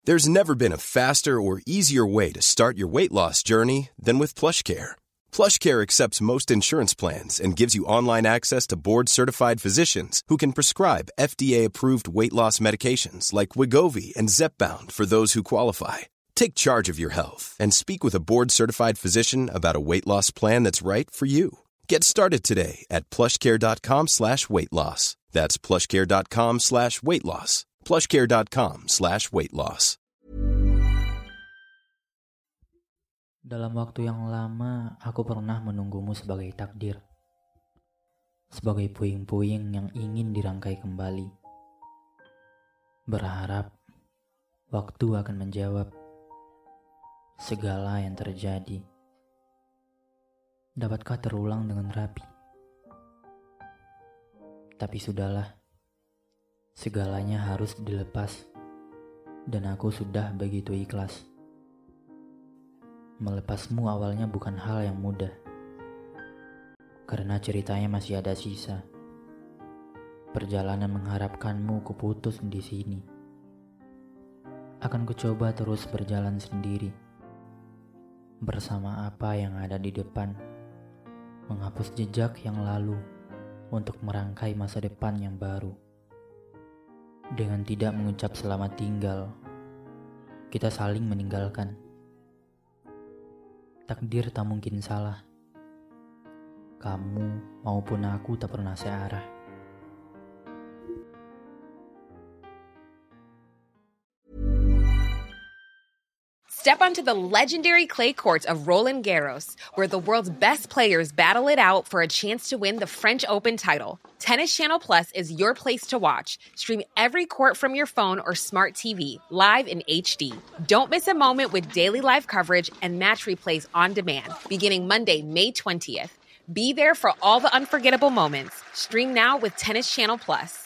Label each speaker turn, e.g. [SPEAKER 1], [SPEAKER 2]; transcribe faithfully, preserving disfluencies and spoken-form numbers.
[SPEAKER 1] There's never been a faster or easier way to start your weight loss journey than with PlushCare. PlushCare accepts most insurance plans and gives you online access to board-certified physicians who can prescribe F D A-approved weight loss medications like Wegovy and Zepbound for those who qualify. Take charge of your health and speak with a board-certified physician about a weight loss plan that's right for you. Get started today at plushcare.com slash weight loss. That's plushcare.com slash weight loss. plushcare.com slash weight loss.
[SPEAKER 2] Dalam waktu yang lama, aku pernah menunggumu sebagai takdir. Sebagai puing-puing yang ingin dirangkai kembali. Berharap waktu akan menjawab segala yang terjadi. Dapatkah terulang dengan rapi? Tapi sudahlah. Segalanya harus dilepas, dan aku sudah begitu ikhlas. Melepasmu awalnya bukan hal yang mudah, karena ceritanya masih ada sisa. Perjalanan mengharapkanmu kuputus di sini. Akan kucoba terus berjalan sendiri, bersama apa yang ada di depan, menghapus jejak yang lalu untuk merangkai masa depan yang baru. Dengan tidak mengucap selamat tinggal, kita saling meninggalkan. Takdir tak mungkin salah. Kamu maupun aku tak pernah searah.
[SPEAKER 3] Step onto the legendary clay courts of Roland Garros, where the world's best players battle it out for a chance to win the French Open title. Tennis Channel Plus is your place to watch. Stream every court from your phone or smart T V, live in H D. Don't miss a moment with daily live coverage and match replays on demand, beginning Monday, May twentieth. Be there for all the unforgettable moments. Stream now with Tennis Channel Plus.